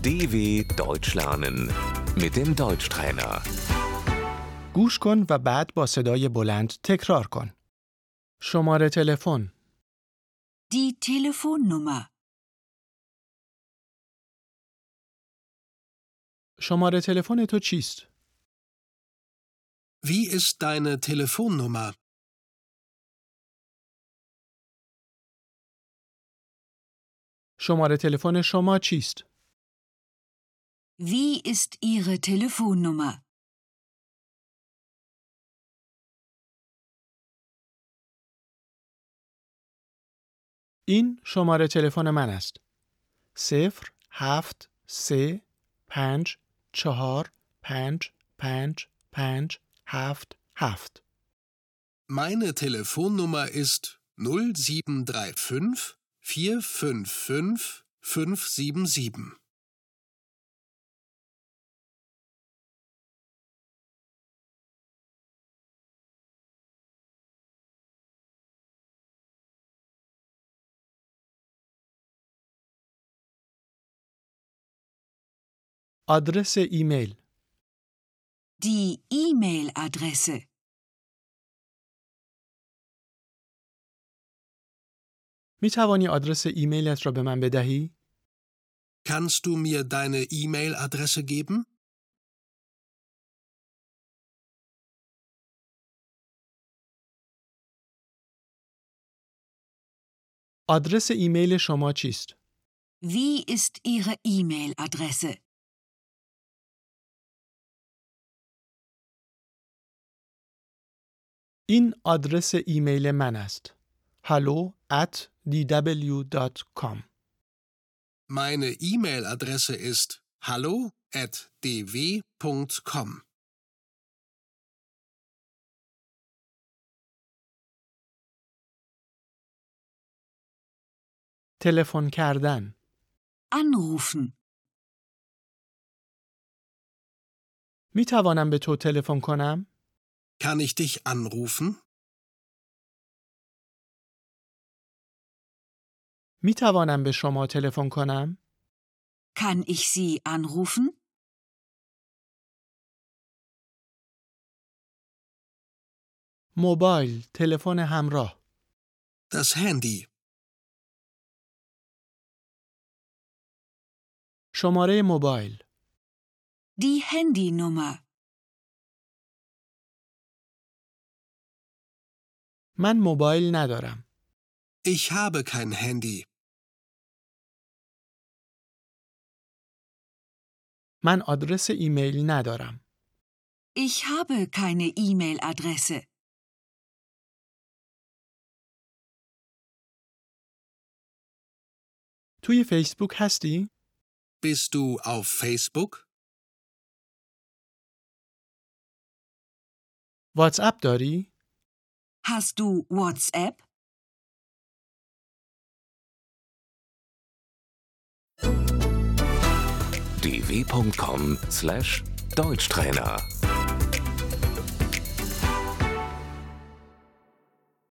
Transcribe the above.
DW Deutsch lernen mit dem Deutschtrainer. گوش کن و بعد با صدای بلند تکرار کن. شماره تلفن، Die Telefonnummer. شماره تلفن تو چیست؟ Wie ist deine Telefonnummer? شماره تلفن شما چیست؟ Wie ist Ihre Telefonnummer? این شماره تلفن من است. 0 7 3 5 4 5 5 5 7 7. Meine Telefonnummer ist 0735 455 577. آدرس ایمیل، Die E-Mail-Adresse. می توانی آدرس ایمیلت را به من بدهی؟ Kannst du mir deine E-Mail-Adresse geben? آدرس ایمیل شما چیست؟ Wie ist Ihre E-Mail-Adresse? این آدرس ایمیل من است. hallo@dw.com. Meine E-Mail-Adresse ist hallo@dw.com. تلفن کردن، Anrufen. می توانم به تو تلفن کنم؟ Kann ich dich anrufen? می توانم به شما تلفن کنم؟ Kann ich Sie anrufen? موبایل، تلفن همراه، Das Handy. شماره موبایل، Die Handynummer. من موبایل ندارم. Ich habe kein Handy. من آدرس ایمیل ندارم. Ich habe keine E-Mail-Adresse. توی فیسبوک هستی؟ Bist du auf Facebook? واتس اپ داری؟ Hast du WhatsApp? dw.com/Deutschtrainer